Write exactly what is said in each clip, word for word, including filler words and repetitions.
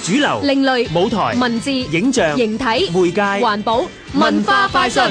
主流、 另類、 舞台、 文字、 影像、 形體、 媒介、 環保、文化快訊。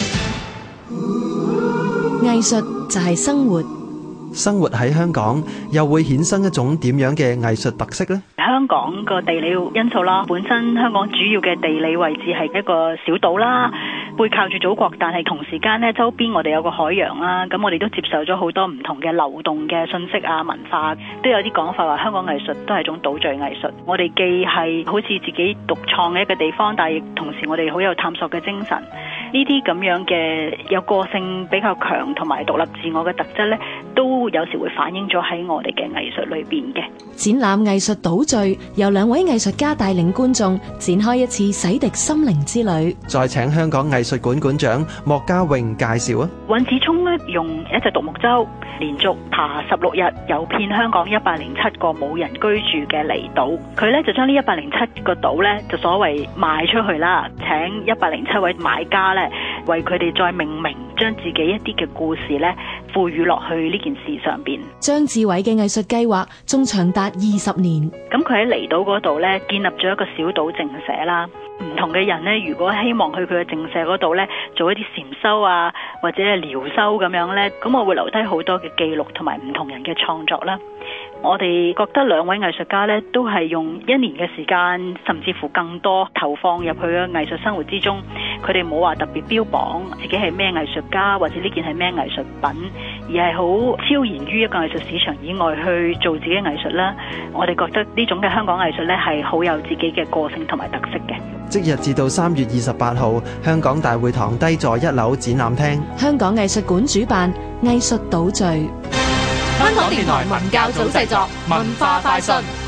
藝術就係生活。 生活喺香港又會衍生一種點樣嘅藝術特色呢？ 香港個地理因素啦，本身香港主要嘅地理位置係一個小島啦，背靠住祖國，但係同時間呢，周邊我哋有個海洋啦，咁我哋都接受咗好多唔同嘅流動嘅信息啊、文化，都有啲講法話香港藝術都係一種島嶼藝術。我哋既係好似自己獨創嘅一個地方，但係亦同時我哋好有探索嘅精神。呢啲咁樣嘅有個性比較強同埋獨立自我嘅特質呢，都有時會反映咗喺我哋嘅藝術裏邊嘅。 展覽藝術島嶼，由兩位藝術家帶領觀眾展開一次洗滌心靈之旅。 再請香港藝術館館長莫家穎介紹啊！ 尹子聰呢，用一隻獨木舟連續爬十六日，遊遍香港一百零七個冇人居住嘅離島。佢呢就將呢一百零七個島呢，就所謂賣出去啦，請一百零七位買家呢，為佢哋再命名，將自己一啲嘅故事呢賦予落去呢件事上邊。 張志偉嘅藝術計劃仲長達二十年。 咁佢喺離島嗰度呢，建立咗一個小島靜舍啦。唔同嘅人呢，如果希望去佢嘅靜舍嗰度呢，做一啲禪修啊，或者係療修咁樣呢，咁我會留低好多嘅記錄同埋唔同人嘅創作啦。我哋覺得兩位藝術家呢，都係用一年嘅時間，甚至乎更多投放入去嘅藝術生活之中。佢哋冇話特別標榜自己係咩藝術家，或者呢件係咩藝術品，而係好超然於一個藝術市場以外去做自己藝術啦。我哋覺得呢種嘅香港藝術呢，係好有自己嘅個性同埋特色嘅。 即日至到三月二十八號，香港大會堂低座一樓展覽廳， 香港藝術館主辦藝術島嶼。 香港電台文教組製作，文化快訊。